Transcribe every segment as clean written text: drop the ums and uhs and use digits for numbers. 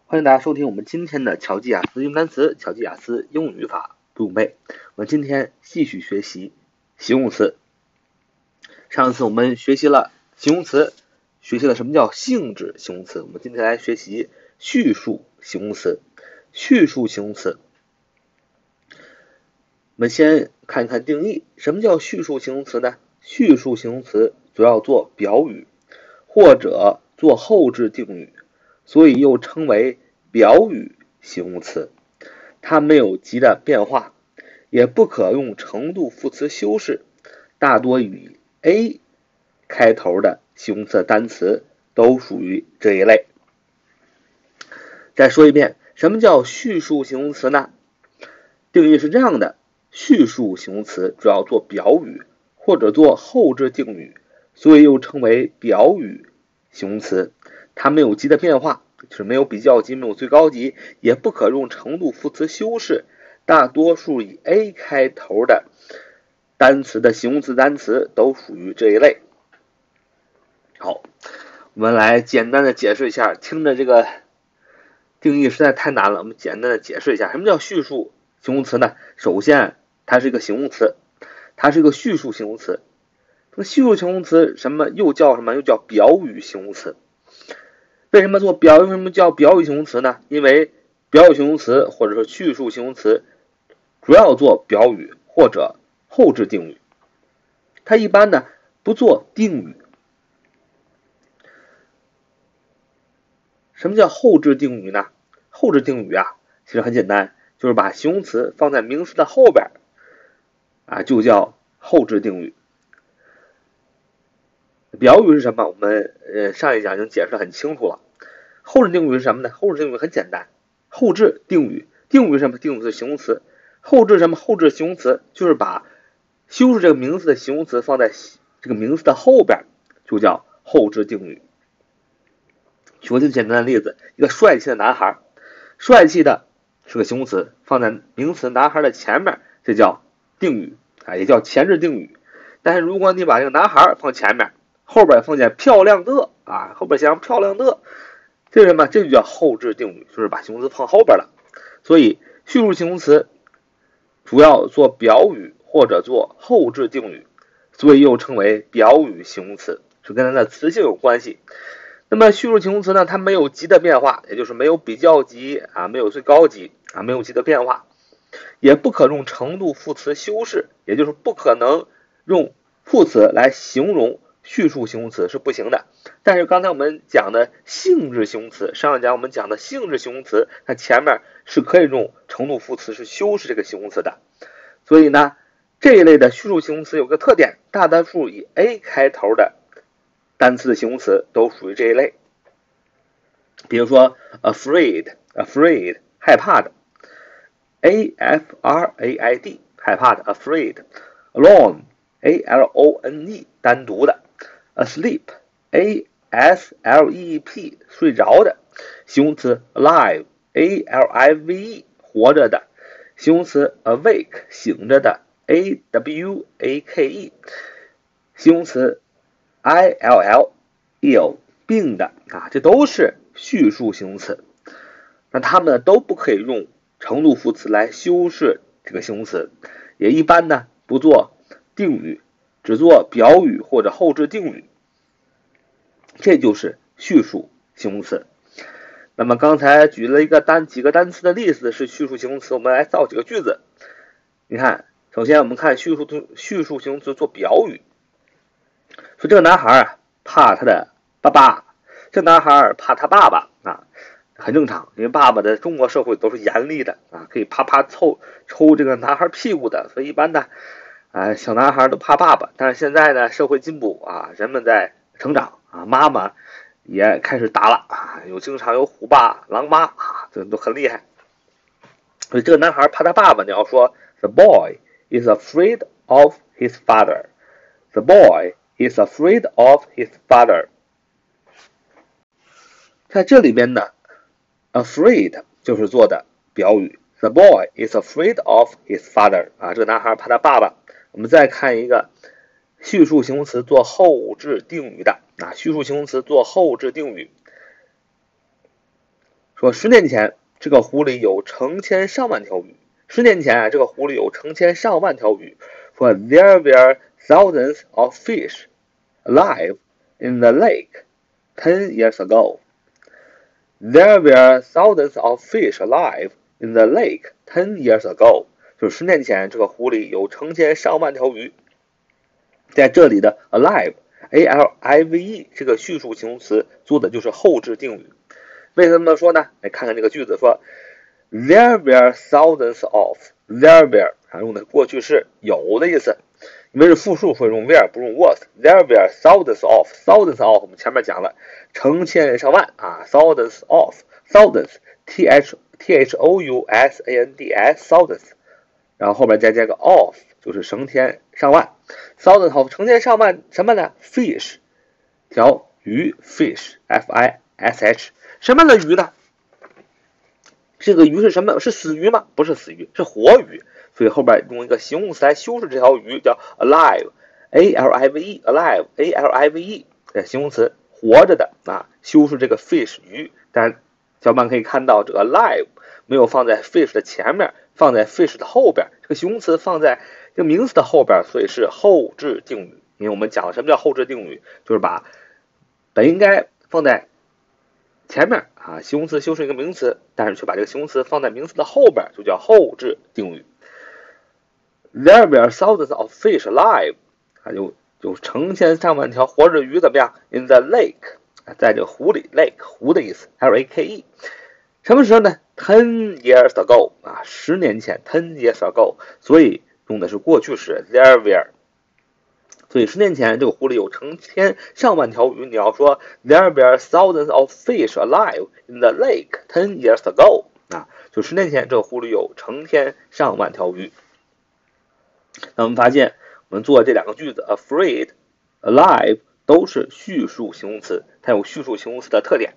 欢迎大家收听我们今天的巧记雅思英语单词、巧记雅思英语语法不用背。我们今天继续学习形容词。上次我们学习了形容词，学习了什么叫性质形容词。我们今天来学习叙述形容词。叙述形容词，我们先看一看定义。什么叫叙述形容词呢？叙述形容词主要做表语或者做后置定语，所以又称为表语形容词。它没有极的变化，也不可用程度副词修饰，大多以 A 开头的形容词单词都属于这一类。再说一遍，什么叫叙述形容词呢？定义是这样的：叙述形容词主要做表语或者做后置定语，所以又称为表语形容词。它没有极的变化，就是没有比较级，没有最高级，也不可用程度副词修饰，大多数以 A 开头的单词的形容词单词都属于这一类。好，我们来简单的解释一下，听着这个定义实在太难了，我们简单的解释一下，什么叫叙述形容词呢？首先，它是一个形容词，它是一个叙述形容词。这个叙述形容词又叫什么？又叫表语形容词。为什么叫表语形容词呢？因为表语形容词或者说叙述形容词主要做表语或者后置定语，它一般呢不做定语。什么叫后置定语呢？后置定语其实很简单，就是把形容词放在名词的后边就叫后置定语。表语是什么？我们上一讲已经解释得很清楚了。后置定语是什么呢？后置定语很简单，后置定语，定语是什么？定语是形容词。后置什么？后置形容词就是把修饰这个名词的形容词放在这个名词的后边，就叫后置定语。举个最简单的例子，一个帅气的男孩，帅气的是个形容词，放在名词男孩的前面，这叫定语也叫前置定语。但是如果你把这个男孩放前面，后边放见漂亮的后边写上漂亮的，这是什么？这就叫后置定语，就是把形容词放后边了。所以叙述形容词主要做表语或者做后置定语，所以又称为表语形容词，是跟它的词性有关系。那么叙述形容词呢，它没有极的变化，也就是没有比较级没有最高级没有极的变化，也不可用程度副词修饰，也就是不可能用副词来形容叙述形容词是不行的。但是刚才我们讲的性质形容词，上一讲我们讲的性质形容词，它前面是可以用程度副词是修饰这个形容词的。所以呢，这一类的叙述形容词有个特点，大多数以 A 开头的单词的形容词都属于这一类。比如说 afraid 害怕的， afraid 害怕的 afraid， alone alone 单独的， asleep asleep 睡着的，形容词 alive alive 活着的，形容词 awake 醒着的 awake， 形容词 ill 病的这都是叙述形容词。那它们都不可以用程度副词来修饰这个形容词，也一般呢不做定语，只做表语或者后置定语，这就是叙述形容词。那么刚才举了几个单词的例子是叙述形容词，我们来造几个句子。你看，首先我们看叙述形容词做表语，说这个男孩怕他的爸爸，这男孩怕他爸爸很正常，因为爸爸的中国社会都是严厉的可以啪啪抽这个男孩屁股的，所以一般的小男孩都怕爸爸。但是现在呢，社会进步人们在成长妈妈也开始打了经常有虎爸狼妈这都很厉害。所以这个男孩怕他爸爸，你要说 The boy is afraid of his father. The boy is afraid of his father. 在这里边呢，afraid 就是做的表语。The boy is afraid of his father 这个男孩怕他爸爸。我们再看一个叙述形容词做后置定语的叙述形容词做后置定语。 说10年前这个湖里有成千上万条鱼。10年前啊，这个湖里有成千上万条鱼。说 There were thousands of fish alive in the lake 10 years ago. There were thousands of fish alive in the lake 10 years ago. 就是10年前这个湖里有成千上万条鱼。在这里的 alive A-L-I-V-E 这个叙述形容词做的就是后置定语。为什么这么说呢？来看看这个句子，说 There were thousands of There were 用的过去式有的意思，因为是复数，所以用 were 不用 was。 There were thousands of thousands of 我们前面讲了成千上万thousands of thousands T-H-O-U-S-A-N-D-S thousands， 然后后面再加个 of 就是成千上万 thousands of 成千上万什么呢？ fish 条鱼 fish F-I-S-H 什么样的鱼呢？这个鱼是什么？是死鱼吗？不是死鱼，是活鱼。所以后边用一个形容词来修饰这条鱼，叫 alive A-L-I-V-E alive A-L-I-V-E 形容词活着的修饰这个 fish 鱼。但是小伙伴可以看到这个 alive 没有放在 fish 的前面，放在 fish 的后边，这个形容词放在这个名词的后边，所以是后置定语。因为我们讲了什么叫后置定语，就是把本应该放在前面形容词修饰一个名词，但是却把这个形容词放在名词的后边，就叫后置定语。There were thousands of fish alive 有成千上万条活着鱼怎么样 in the lake 在这个湖里 lake 湖的意思 L-A-K-E 什么时候呢 10 years ago 10年前 10 years ago 所以用的是过去式 there were， 所以10年前这个湖里有成千上万条鱼，你要说 There were thousands of fish alive in the lake 10 years ago 就10年前这个湖里有成千上万条鱼。那我们发现我们做这两个句子 afraid alive 都是叙述形容词，它有叙述形容词的特点。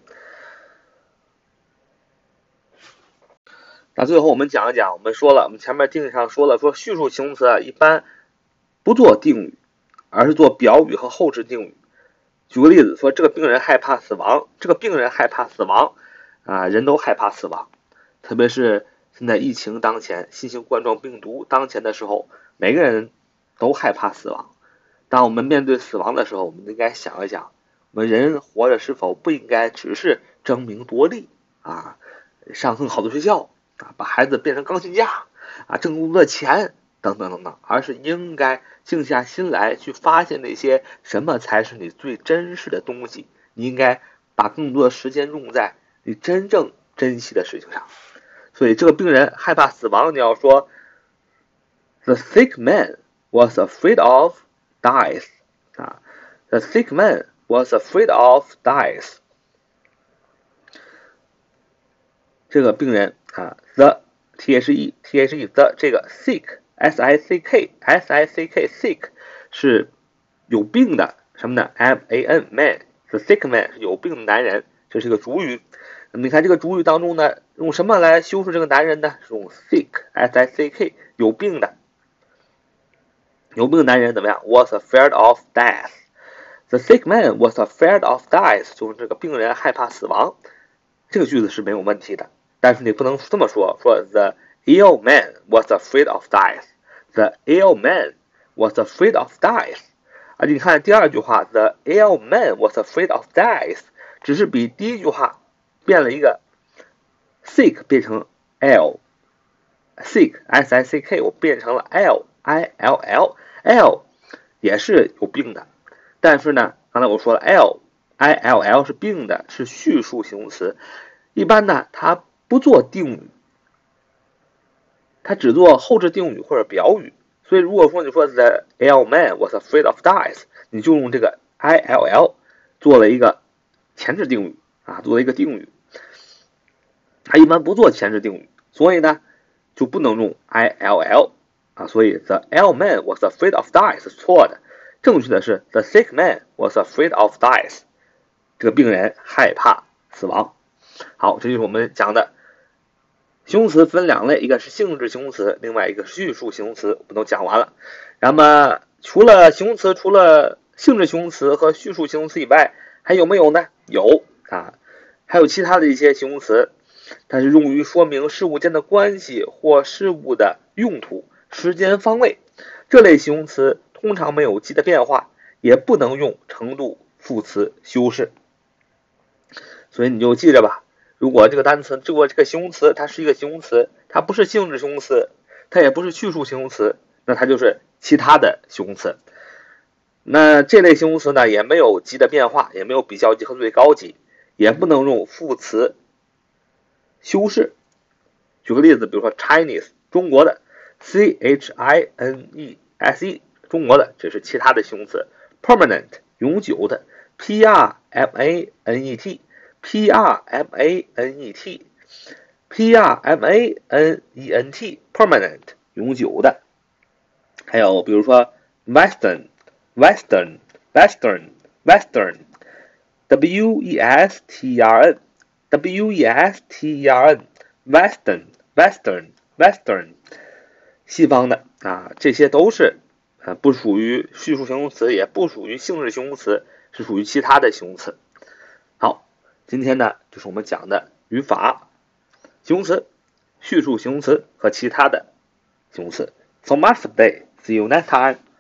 那最后我们讲一讲，我们前面定义上说了，说叙述形容词一般不做定语，而是做表语和后置定语。举个例子，说这个病人害怕死亡，这个病人害怕死亡人都害怕死亡，特别是现在疫情当前，新型冠状病毒当前的时候，每个人都害怕死亡。当我们面对死亡的时候，我们应该想一想，我们人活着是否不应该只是争名夺利上更好的学校把孩子变成钢琴家挣更多的钱等等等等，而是应该静下心来去发现那些什么才是你最珍视的东西。你应该把更多的时间用在你真正珍惜的事情上。所以这个病人害怕死亡，你要说 The sick man was afraid of death The sick man was afraid of death 这个病人the T-H-E the 这个 sick S-I-C-K sick 是有病的什么呢 M-A-N man the sick man 是有病的男人，这是一个主语。那么你看这个主语当中呢，用什么来修饰这个男人呢？是用 sick S-I-C-K 有病的男人怎么样 was afraid of death The sick man was afraid of death 就是这个病人害怕死亡。这个句子是没有问题的，但是你不能这么说 The ill man was afraid of death The ill man was afraid of death 你看第二句话 The ill man was afraid of death 只是比第一句话变了一个 sick 变成 L sick S-I-C-K 我变成了 L-I-L-L L 也是有病的，但是呢刚才我说了 L-I-L-L 是病的，是叙述形容词，一般呢它不做定语，它只做后置定语或者表语。所以如果说你说 The ill man was afraid of death 你就用这个 I-L-L 做了一个前置定语做了一个定语，它一般不做前置定语，所以呢就不能用 I-L-L所以 The ill man was afraid of death 是错的，正确的是 The sick man was afraid of death 这个病人害怕死亡。好，这就是我们讲的形容词分两类，一个是性质形容词，另外一个是叙述形容词，我们都讲完了。那么除了形容词，除了性质形容词和叙述形容词以外，还有没有呢？有还有其他的一些形容词， 它是用于说明事物间的关系或事物的用途、时间、方位。这类形容词通常没有极的变化，也不能用程度副词修饰。所以你就记着吧，如果这个单词，如果这个形容词它是一个形容词，它不是性质形容词，它也不是序数形容词，那它就是其他的形容词。那这类形容词呢，也没有极的变化，也没有比较级和最高级，也不能用副词修饰。举个例子，比如说 Chinese 中国的 Chinese 中国的，这是其他的形容词。Permanent 永久的 Permanent Permanent 永久的。还有比如说 Western Western Western Western Western Western Western Western 西方的啊，这些都是不属于序数形容词，也不属于性质形容词，是属于其他的形容词。好，今天呢就是我们讲的语法、形容词、序数形容词和其他的形容词。So much for today. See you next time.